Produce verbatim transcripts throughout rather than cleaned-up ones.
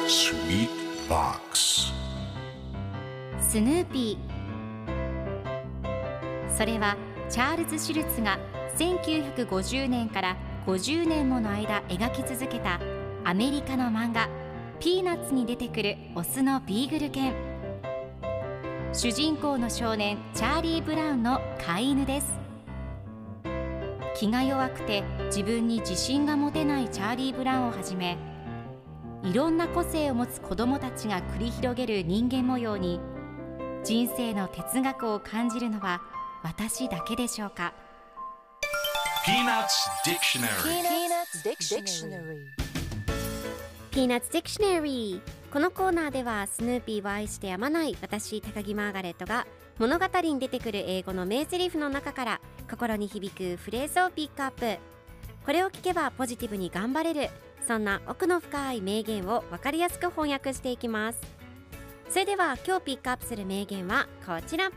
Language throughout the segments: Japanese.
Sweet Box スヌーピー。それはチャールズ・シュルツがせんきゅうひゃくごじゅうねんからごじゅうねんもの間描き続けたアメリカの漫画ピーナッツに出てくるオスのビーグル犬。主人公の少年チャーリー・ブラウンの飼い犬です。気が弱くて自分に自信が持てないチャーリー・ブラウンをはじめ、いろんな個性を持つ子どもたちが繰り広げる人間模様に人生の哲学を感じるのは私だけでしょうか。 Peanuts Dictionary Peanuts Dictionary。 このコーナーではスヌーピーを愛してやまない私高木マーガレットが物語に出てくる英語の名台詞の中から心に響くフレーズをピックアップ。これを聞けばポジティブに頑張れる、そんな奥の深い名言を分かりやすく翻訳していきます。それでは今日ピックアップする名言はこちら。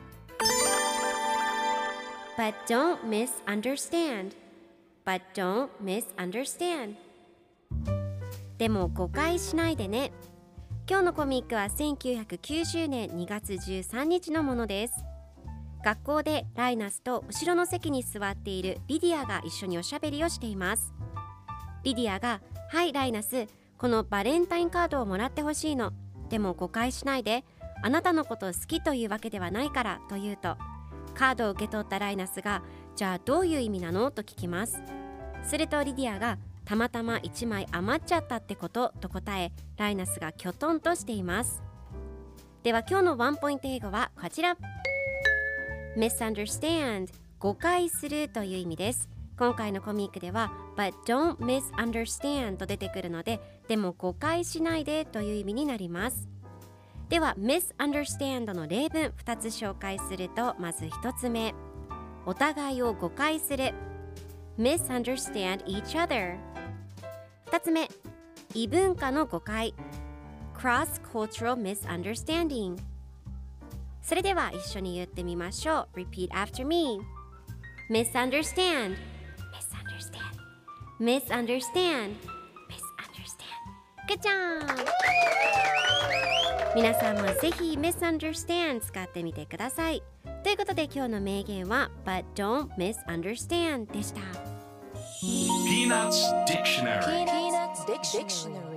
But don't misunderstand But don't misunderstand。 でも誤解しないでね。今日のコミックはせんきゅうひゃくきゅうじゅうねんにがつじゅうさんにちのものです。学校でライナスと後ろの席に座っているリディアが一緒におしゃべりをしています。リディアが、はいライナス、このバレンタインカードをもらってほしいの。でも誤解しないで、あなたのこと好きというわけではないからと言うと、カードを受け取ったライナスが、じゃあどういう意味なのと聞きます。するとリディアが、たまたまいちまい余っちゃったってことと答え、ライナスがきょとんとしています。では今日のワンポイント英語はこちら。 misunderstand、 誤解するという意味です。今回のコミックでは But don't misunderstand と出てくるので、でも誤解しないでという意味になります。では misunderstand の例文ふたつ紹介すると、まずひとつめ、お互いを誤解する misunderstand each other。 ふたつめ、異文化の誤解 cross-cultural misunderstanding。 それでは一緒に言ってみましょう。 Repeat after me。 misunderstand misunderstand misunderstand。 Good job。 皆さんもぜひ misunderstand 使ってみてください。ということで今日の名言は But don't misunderstand でした。 Peanuts Dictionary Peanuts Dictionary